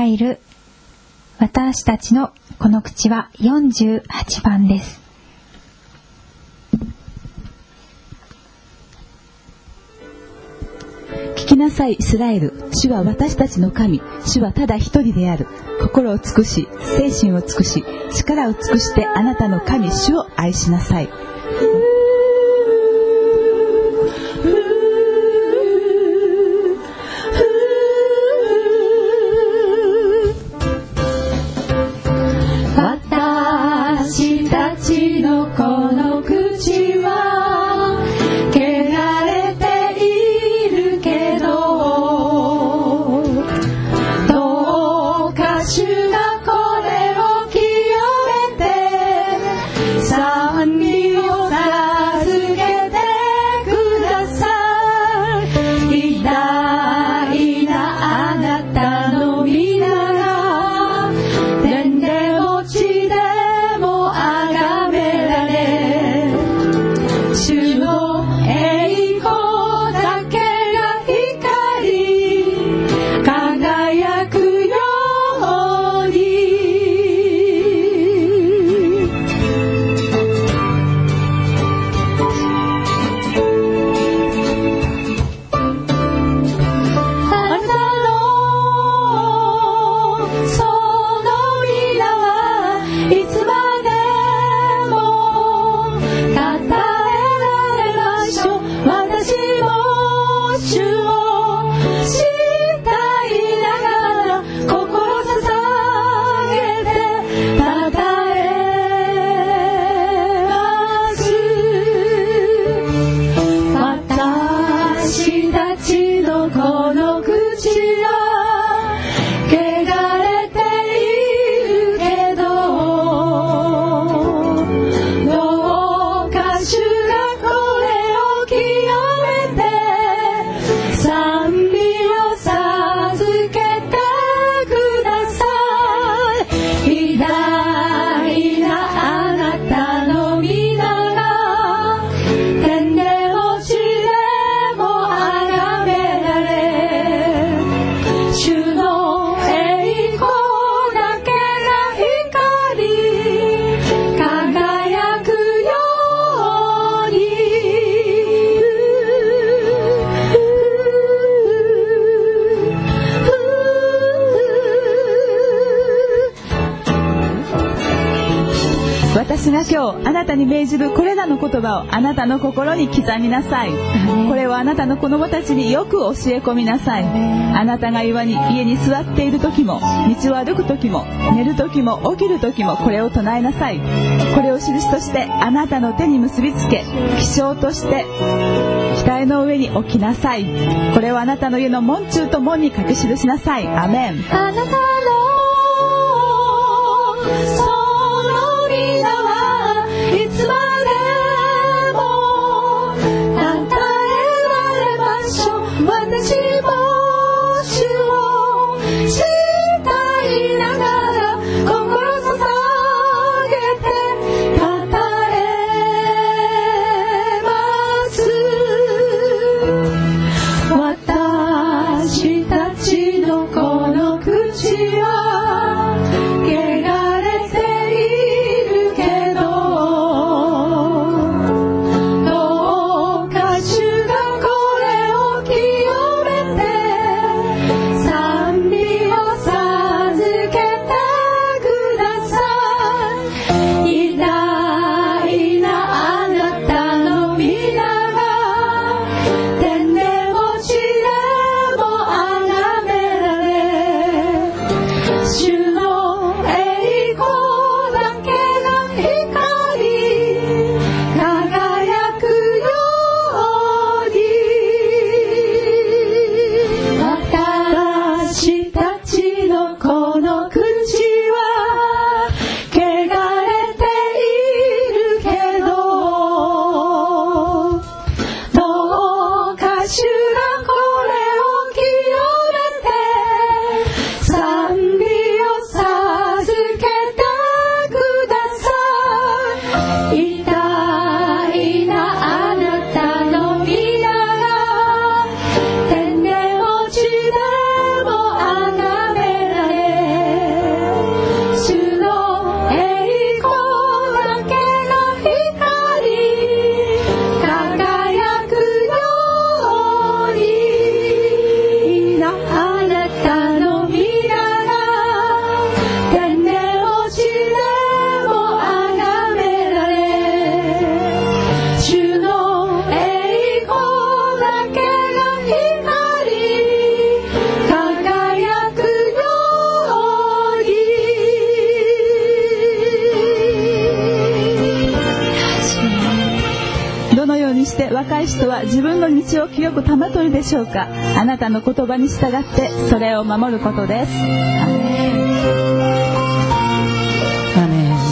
入る私たちのこの口は48番です。 聞きなさいイスラエル、主は私たちの神、主はただ一人である。心を尽くし、精神を尽くし、力を尽くしてあなたの神主を愛しなさい。 私たちのこの口は汚れているけど、どうか主がこれを清めて賛美を授けてください。偉大なあなたの皆が天でも地でも崇められ、主の栄光だけが光り輝くように。あなたのその皆はいつまでもたたえられましょう。私も主を慕いながら心捧げてたたえます。私たちのこの口は汚れているけど、どうか主がこれを清めて賛美を授けてください。偉大なあなたの皆が天でも地でも崇められ、主の栄光だけが光り輝くように。 私が今日あなたに命じるこれらの言葉をあなたの心に刻みなさい。これをあなたの子供たちによく教え込みなさい。あなたが家に座っている時も、道を歩く時も、寝る時も、起きる時もこれを唱えなさい。これを印としてあなたの手に結びつけ、記章として額の上に置きなさい。これをあなたの家の門中と門に書き記しなさい。アメン。 あなたのその皆はいつまでもたたえられましょう。私も主を慕いながら心捧げてたたえます。私たちのこの口は汚れているけど、どうか主がこれを清めて賛美を授けてください。偉大なあなたの皆が天でも地でも崇められ、 ない人は自分の道を清く保とるでしょうか。あなたの言葉に従ってそれを守ることです。アメン。 アメン。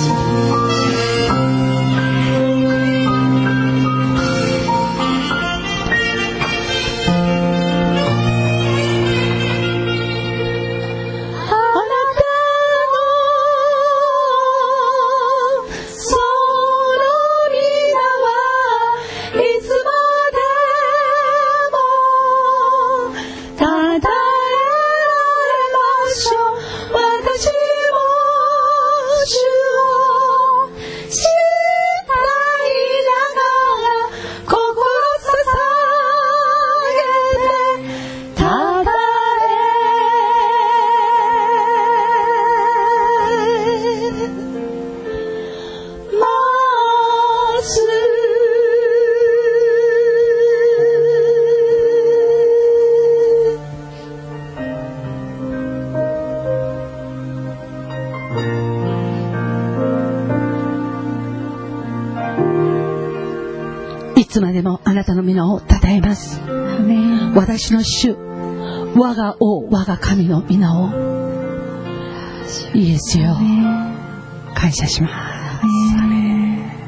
いつまでもあなたの皆を称えます。私の主、我が王、我が神の皆をイエスよ感謝します。アメン。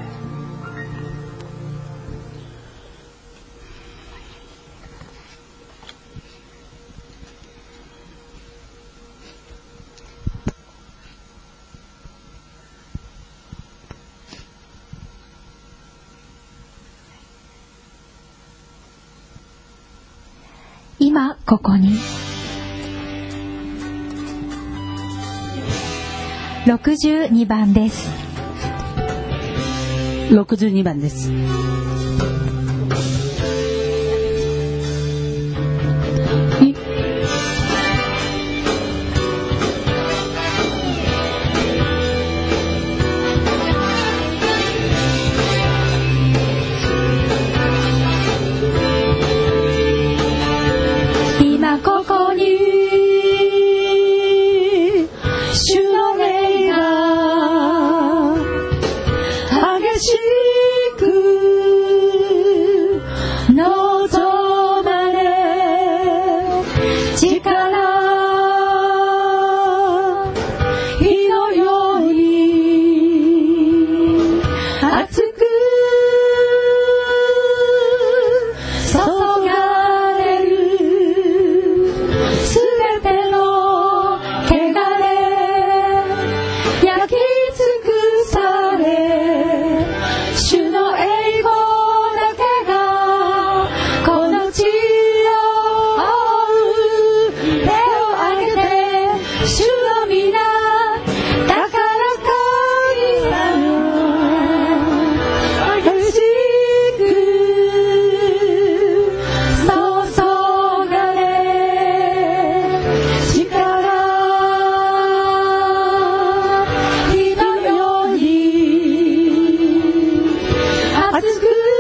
今ここに62番です。 62番です。 ここに主の霊が激しく望まれ、力火のように熱く注がれるすべての汚れ焼き尽くされ、主の栄光だけがこの地を覆う。手を挙げて主の皆高らかに激しく注がれ、火のように熱く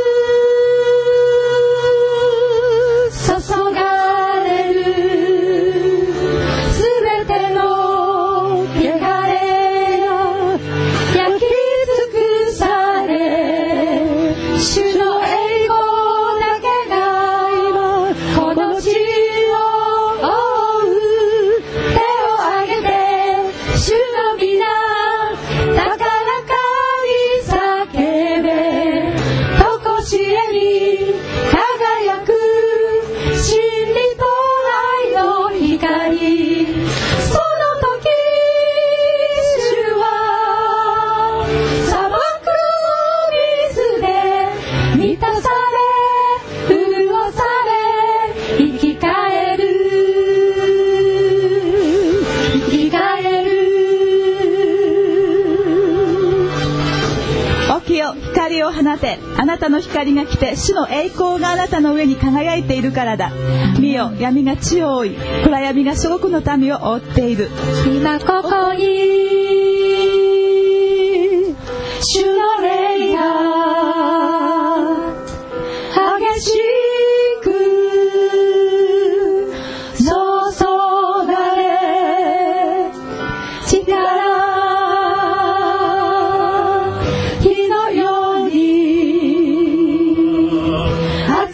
注がれるすべての汚れが焼き尽くされ、主の栄光だけが今この地を覆う。手を挙げて主の皆高らかに叫べ、とこしえに輝く真理と愛の光。その時主は砂漠を水で満たされ、潤され、生き返る生き返る。 起きよ、光を放て。あなたの光が来て主の栄光があなたの上に輝いているからだ。見よ、闇が地を覆い、暗闇が諸国の民を覆っている。 今ここに主の霊が激しく注がれ、力火のように熱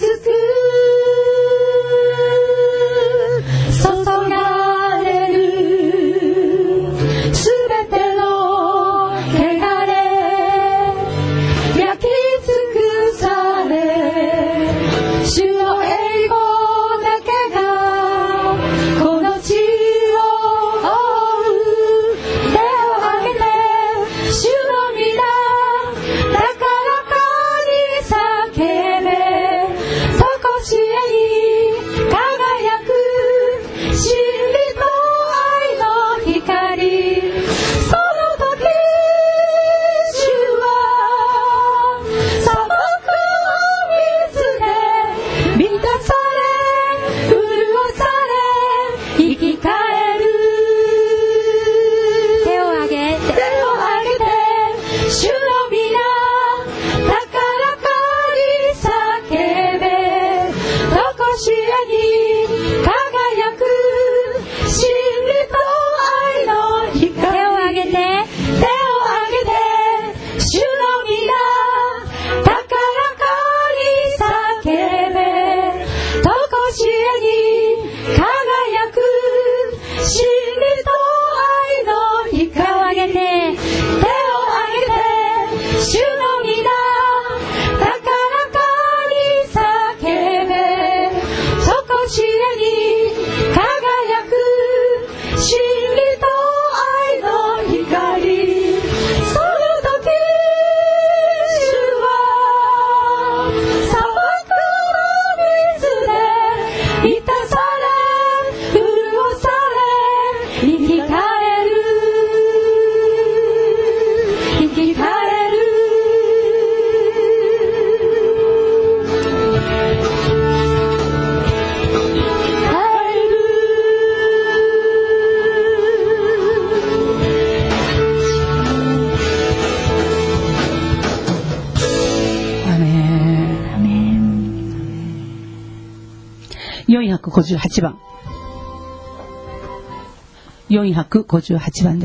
458番。458番です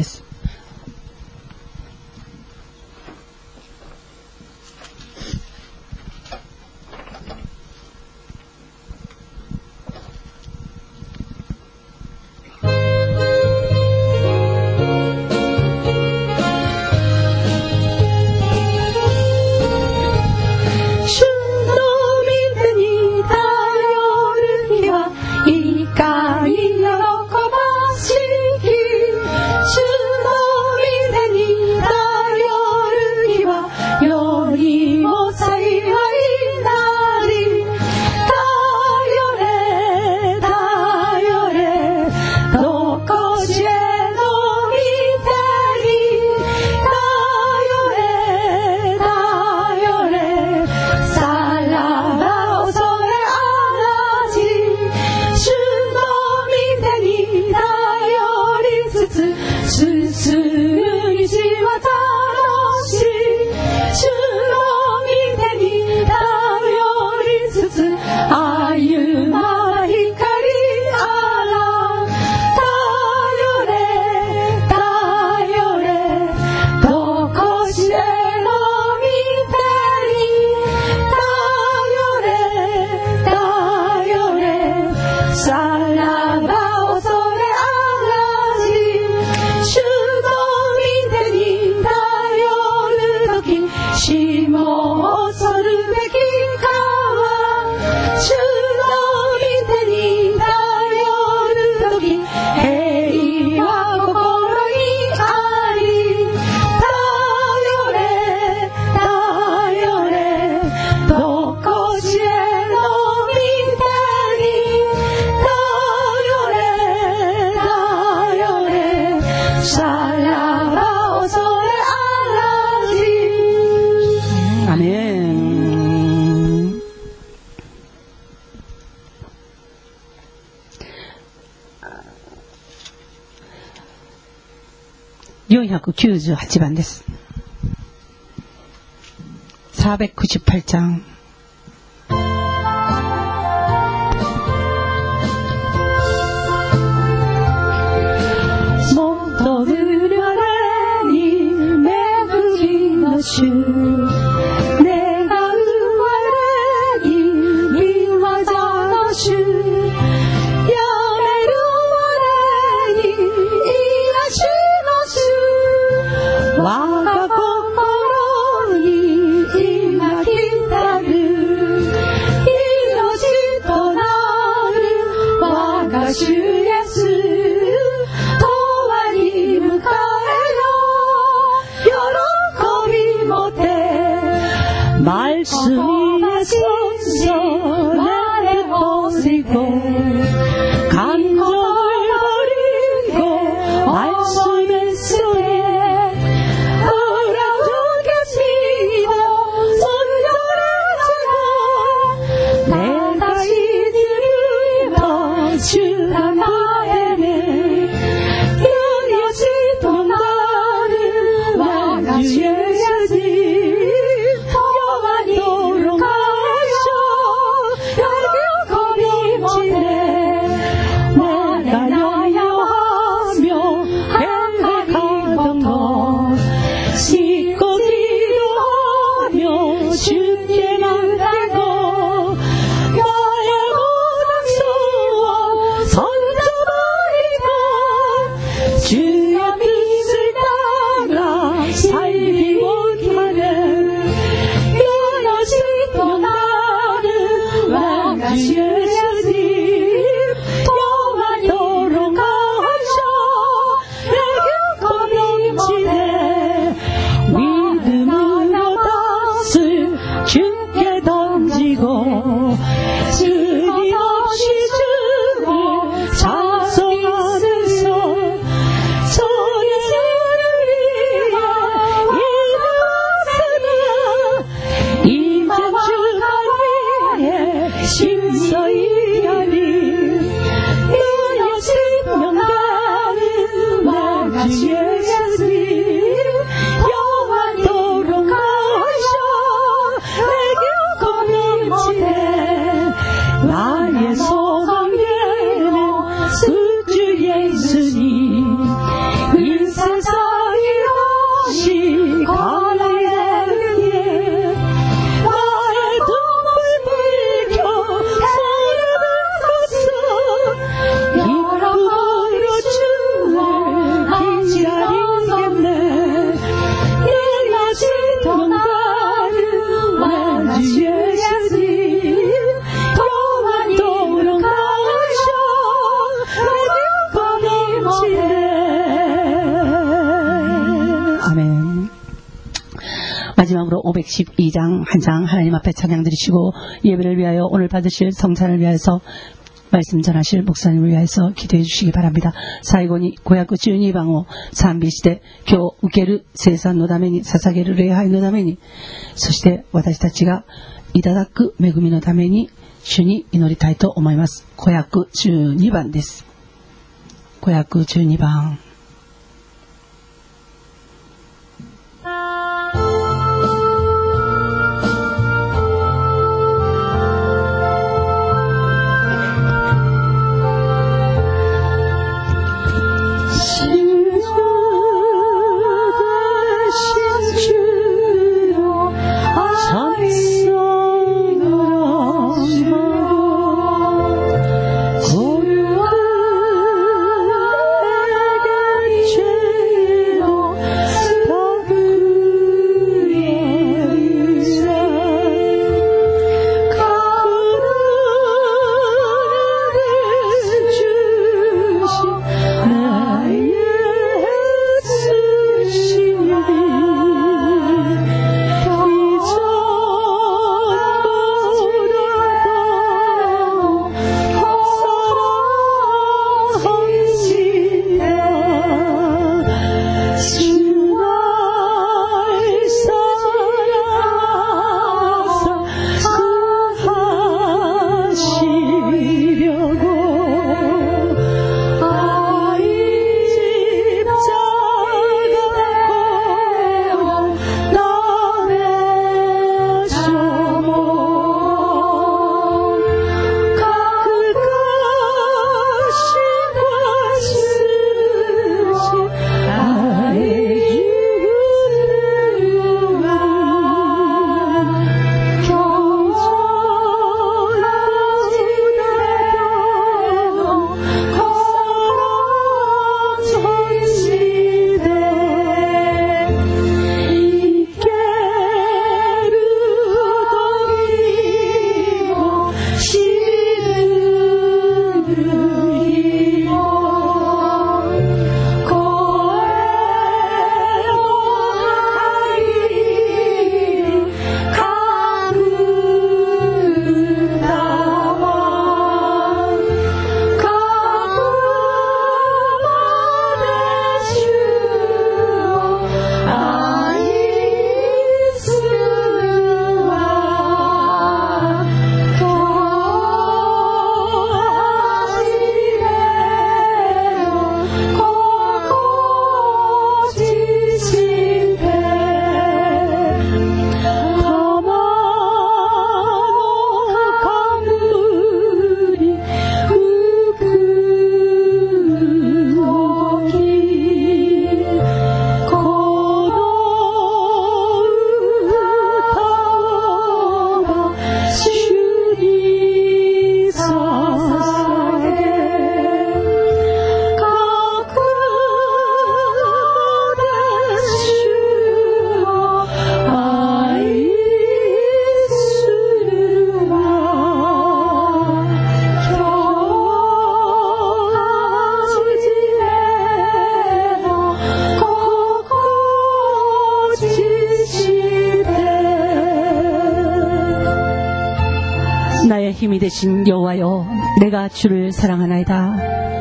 。498番です。498장。 戻る我に恵みの主、願う我に御業の主、やめる我に癒しの主、我が心に今来たる、命となる我が主イエス、永遠に迎 주 예수님 영원토록 가셔 내게 겁이 못해 나의 소망에는 주 예수님 이 세상이 없이 가야 해 나의 눈물 불켜 소리를 걷어 기쁨으로 주를 기다리겠네 내 아직도 나를 주 예수님 영원토록 가셔 내게 겁이 못해. 아멘. 마지막으로 512장 한 장 하나님 앞에 찬양 드리시고 예배를 위하여 오늘 받으실 성찬을 위하여서 말씀 전하실 목사님을 위하여서 기도해 주시기 바랍니다. 最後に512番を賛美して今日受ける聖餐のために捧げる礼拝のためにそして私たちがいただく恵みのために主に祈りたいと思います。512番です。512番。나의 힘이 되신 여호와여, 내가 주를 사랑하나이다.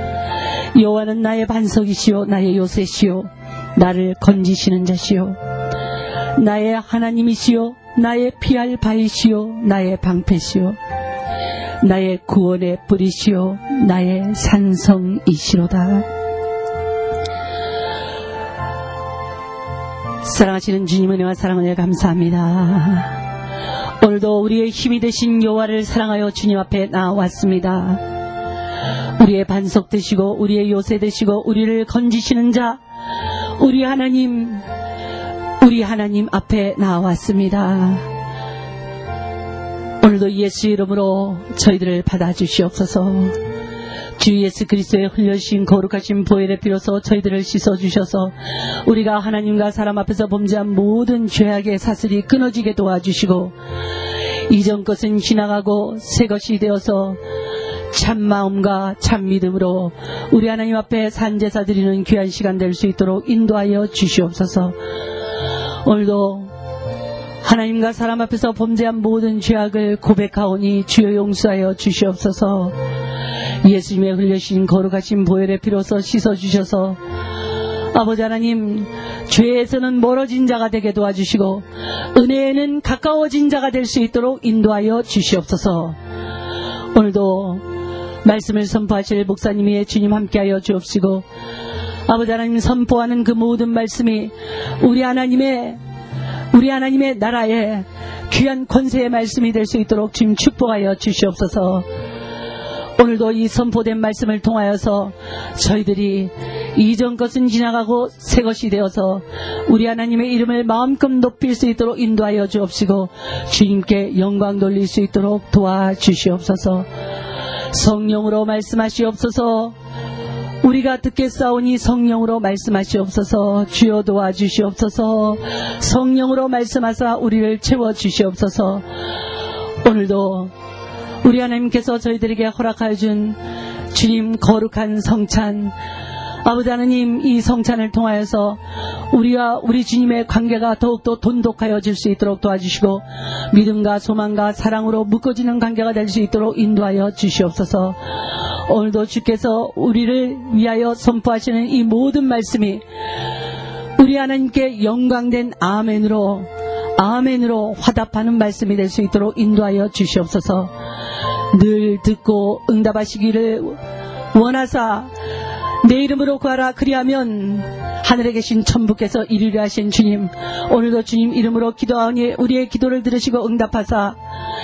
여호와는 나의 반석이시요 나의 요새시요 나를 건지시는 자시요 나의 하나님이시요 나의 피할 바위시요 나의 방패시요 나의 구원의 뿌리시요 나의 산성이시로다. 사랑하시는 주님 은혜와 사랑을 감사합니다. 오늘도 우리의 힘이 되신 여호와를 사랑하여 주님 앞에 나왔습니다. 우리의 반석 되시고 우리의 요새 되시고 우리를 건지시는 자 우리 하나님 앞에 나왔습니다. 오늘도 예수 이름으로 저희들을 받아주시옵소서. 주 예수 그리스도의 흘려주신 거룩하신 보혈의 피로서 저희들을 씻어주셔서 우리가 하나님과 사람 앞에서 범죄한 모든 죄악의 사슬이 끊어지게 도와주시고 이전 것은 지나가고 새 것이 되어서 참 마음과 참 믿음으로 우리 하나님 앞에 산제사 드리는 귀한 시간 될 수 있도록 인도하여 주시옵소서. 오늘도 하나님과 사람 앞에서 범죄한 모든 죄악을 고백하오니 주여 용서하여 주시옵소서. 예수님의 흘려신 거룩하신 보혈의 피로서 씻어주셔서 아버지 하나님 죄에서는 멀어진 자가 되게 도와주시고 은혜에는 가까워진 자가 될 수 있도록 인도하여 주시옵소서. 오늘도 말씀을 선포하실 목사님이 주님 함께하여 주옵시고 아버지 하나님 선포하는 그 모든 말씀이 우리 하나님의 나라의 귀한 권세의 말씀이 될 수 있도록 주님 축복하여 주시옵소서. 오늘도 이 선포된 말씀을 통하여서 저희들이 이전 것은 지나가고 새 것이 되어서 우리 하나님의 이름을 마음껏 높일 수 있도록 인도하여 주옵시고 주님께 영광 돌릴 수 있도록 도와주시옵소서. 성령으로 말씀하시옵소서. 우리가 듣겠사오니 성령으로 말씀하시옵소서. 주여 도와주시옵소서. 성령으로 말씀하사 우리를 채워주시옵소서. 오늘도 우리 하나님께서 저희들에게 허락하여 준 주님 거룩한 성찬 아버지 하나님 이 성찬을 통하여서 우리와 우리 주님의 관계가 더욱더 돈독하여질 수 있도록 도와주시고 믿음과 소망과 사랑으로 묶어지는 관계가 될 수 있도록 인도하여 주시옵소서. 오늘도 주께서 우리를 위하여 선포하시는 이 모든 말씀이 우리 하나님께 영광된 아멘으로 화답하는 말씀이 될 수 있도록 인도하여 주시옵소서. 늘 듣고 응답하시기를 원하사 내 이름으로 구하라 그리하면 하늘에 계신 천부께서 이루려 하신 주님 오늘도 주님 이름으로 기도하오니 우리의 기도를 들으시고 응답하사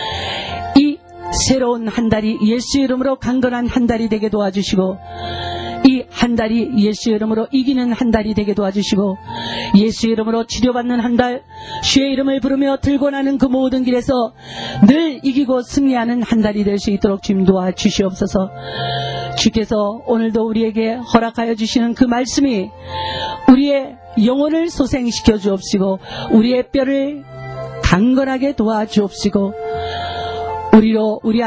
이 새로운 한 달이 예수 이름으로 강건한 한 달이 되게 도와주시고 이 한 달이 예수 이름으로 이기는 한 달이 되게 도와주시고 예수 이름으로 치료받는 한 달 주의 이름을 부르며 들고 나는 그 모든 길에서 늘 이기고 승리하는 한 달이 될 수 있도록 주님 도와주시옵소서. 주께서 오늘도 우리에게 허락하여 주시는 그 말씀이 우리의 영혼을 소생시켜 주옵시고 우리의 뼈를 강건하게 도와주옵시고 우리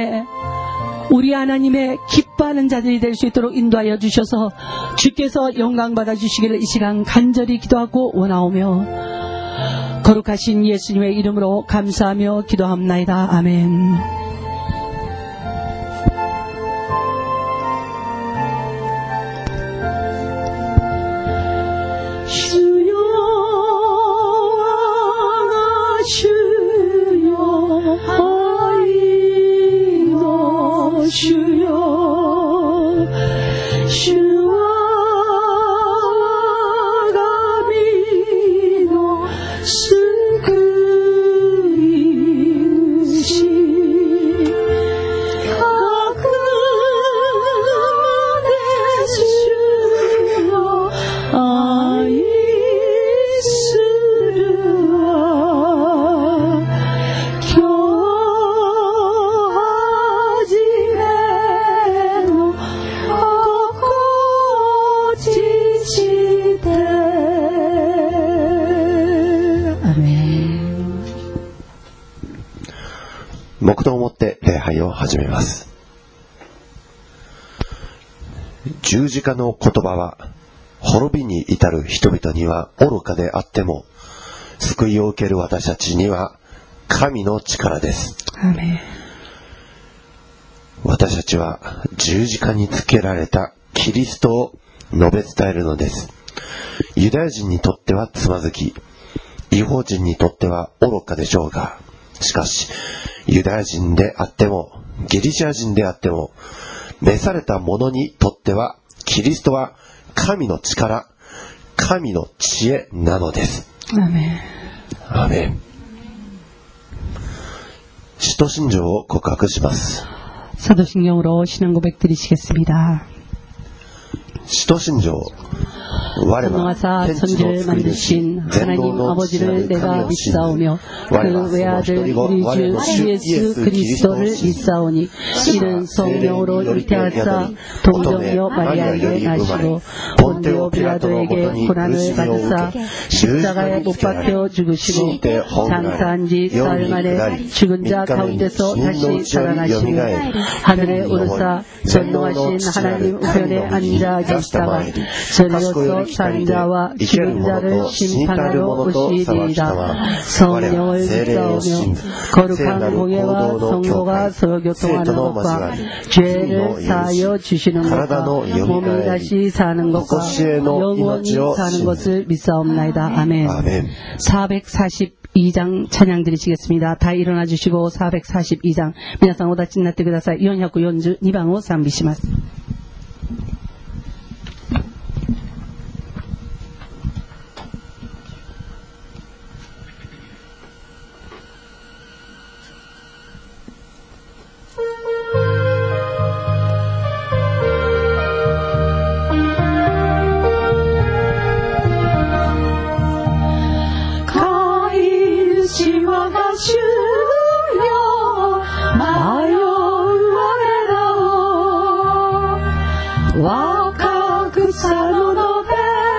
하나님의 기뻐하는 자들이 될 수 있도록 인도하여 주셔서 주께서 영광 받아 주시기를 이 시간 간절히 기도하고 원하오며 거룩하신 예수님의 이름으로 감사하며 기도합나이다. 아멘. 黙祷をもって礼拝を始めます。十字架の言葉は滅びに至る人々には愚かであっても救いを受ける私たちには神の力です。 アーメン。 私たちは十字架につけられたキリストを述べ伝えるのです。ユダヤ人にとってはつまずき、異邦人にとっては愚かでしょうが、しかしユダヤ人であってもギリシャ人であっても召された者にとってはキリストは神の力、 神の知恵なのです。 アメン。 アメン。使徒信条を告白します。 사도신경으로 신앙 고백 드리시겠습니다. 使徒信条 전능하사 천지를 만드신 하나님 아버지를 내가 믿사오며 그 외아들 우리 주 예수 그리스도를 믿사오니 이는 성령으로 잉태하사 동정녀 마리아에게 나시고 본디오 빌라도에게 고난을 받으사 십자가에 못 박혀 죽으시고 장사한 지 사흘 만에 죽은 자 가운데서 다시 살아나시고 하늘에 오르사 전능하신 하나님 우편에 앉아 계시다가 저리로서 산 자와 죽은 자를 심판하러 오시리이다. 성령을 믿사오며 거룩한 공예와 성도가 서로 교통하는 것과 죄를 사하여 주시는 것과 몸이 다시 사는 것과 영원히 사는 것을 믿사옵나이다. 아멘. 442장 찬양 드리시겠습니다. 다 일어나 주시고 442장 皆さんお立ちになってください。442番を賛美します。 若草の野辺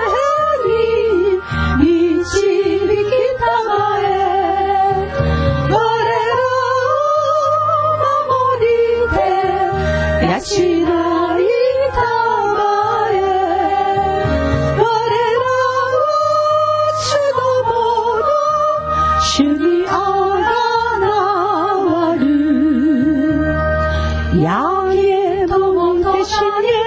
に導きたまえ我らを守りて養いたまえ我らを主どもの主にあがなわるやげどもんて主に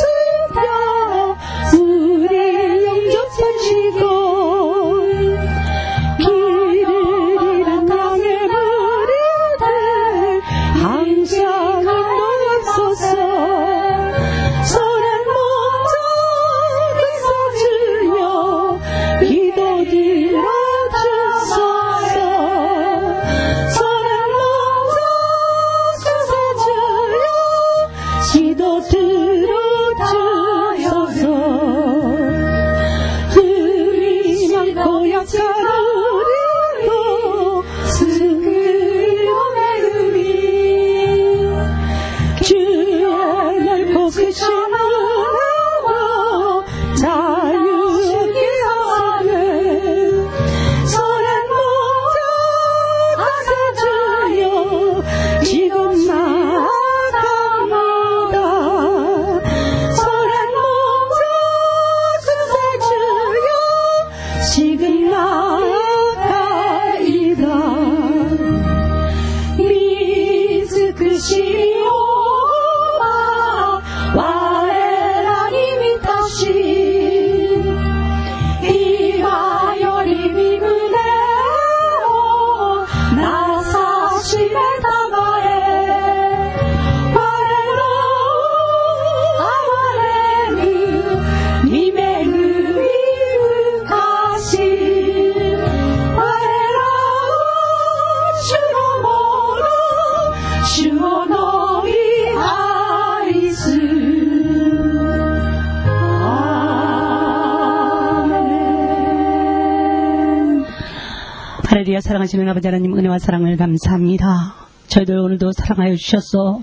할렐루야. 사랑하시는 아버지 하나님 은혜와 사랑을 감사합니다. 저희들 오늘도 사랑하여 주셔서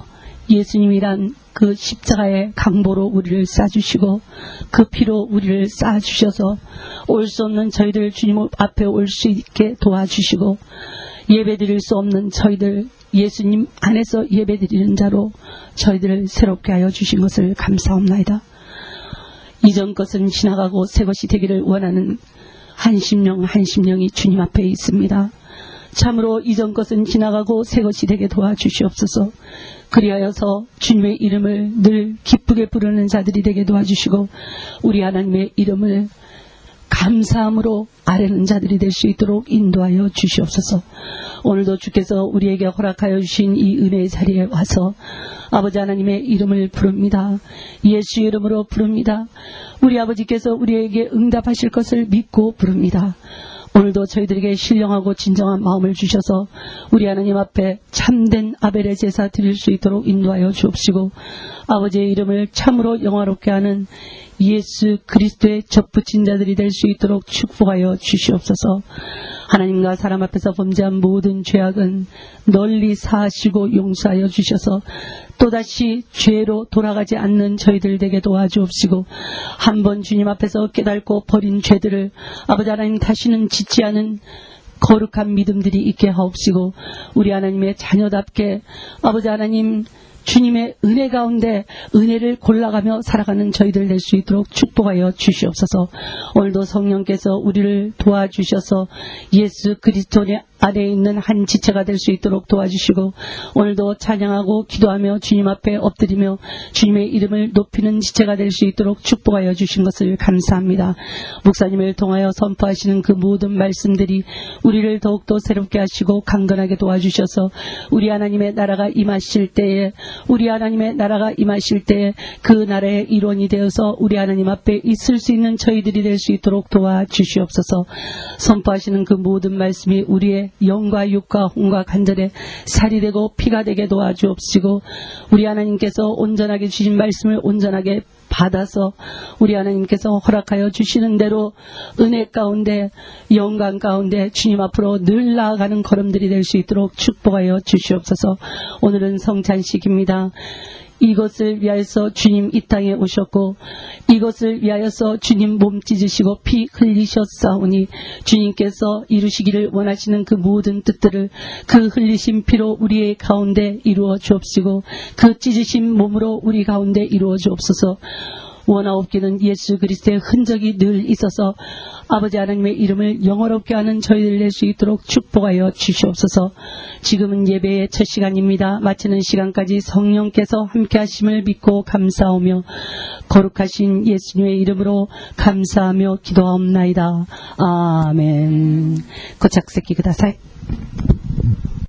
예수님이란 그 십자가의 강보로 우리를 싸주시고 그 피로 우리를 싸주셔서 올 수 없는 저희들 주님 앞에 올 수 있게 도와주시고 예배드릴 수 없는 저희들 예수님 안에서 예배드리는 자로 저희들을 새롭게 하여 주신 것을 감사합니다. 이전 것은 지나가고 새 것이 되기를 원하는 한 심령이 주님 앞에 있습니다. 참으로 이전 것은 지나가고 새 것이 되게 도와주시옵소서. 그리하여서 주님의 이름을 늘 기쁘게 부르는 자들이 되게 도와주시고 우리 하나님의 이름을 감사함으로 아뢰는 자들이 될 수 있도록 인도하여 주시옵소서. 오늘도 주께서 우리에게 허락하여 주신 이 은혜의 자리에 와서 아버지 하나님의 이름을 부릅니다. 예수 이름으로 부릅니다. 우리 아버지께서 우리에게 응답하실 것을 믿고 부릅니다. 오늘도 저희들에게 신령하고 진정한 마음을 주셔서 우리 하나님 앞에 참된 아벨의 제사 드릴 수 있도록 인도하여 주옵시고 아버지의 이름을 참으로 영화롭게 하는 예수 그리스도의 접붙인 자들이 될 수 있도록 축복하여 주시옵소서. 하나님과 사람 앞에서 범죄한 모든 죄악은 널리 사하시고 용서하여 주셔서 또다시 죄로 돌아가지 않는 저희들 되게 도와주옵시고 한번 주님 앞에서 깨닫고 버린 죄들을 아버지 하나님 다시는 짓지 않은 거룩한 믿음들이 있게 하옵시고 우리 하나님의 자녀답게 아버지 하나님 주님의 은혜 가운데 은혜를 골라가며 살아가는 저희들 될 수 있도록 축복하여 주시옵소서. 오늘도 성령께서 우리를 도와주셔서 예수 그리스도 안에 있는 한 지체가 될 수 있도록 도와주시고 오늘도 찬양하고 기도하며 주님 앞에 엎드리며 주님의 이름을 높이는 지체가 될 수 있도록 축복하여 주신 것을 감사합니다. 목사님을 통하여 선포하시는 그 모든 말씀들이 우리를 더욱더 새롭게 하시고 강건하게 도와주셔서 우리 하나님의 나라가 임하실 때에 그 나라의 일원이 되어서 우리 하나님 앞에 있을 수 있는 저희들이 될 수 있도록 도와주시옵소서. 선포하시는 그 모든 말씀이 우리의 영과 육과 혼과 간절에 살이 되고 피가 되게 도와주옵시고 우리 하나님께서 온전하게 주신 말씀을 온전하게 받아서 우리 하나님께서 허락하여 주시는 대로 은혜 가운데 영광 가운데 주님 앞으로 늘 나아가는 걸음들이 될 수 있도록 축복하여 주시옵소서. 오늘은 성찬식입니다. 이것을 위하여서 주님 이 땅에 오셨고 이것을 위하여서 주님 몸 찢으시고 피 흘리셨사오니 주님께서 이루시기를 원하시는 그 모든 뜻들을 그 흘리신 피로 우리의 가운데 이루어 주옵시고 그 찢으신 몸으로 우리 가운데 이루어 주옵소서. 원하옵기는 예수 그리스도의 흔적이 늘 있어서 아버지 하나님의 이름을 영어롭게 하는 저희들 될 수 있도록 축복하여 주시옵소서. 지금은 예배의 첫 시간입니다. 마치는 시간까지 성령께서 함께 하심을 믿고 감사하며 거룩하신 예수님의 이름으로 감사하며 기도하옵나이다. 아멘. 고착席ください。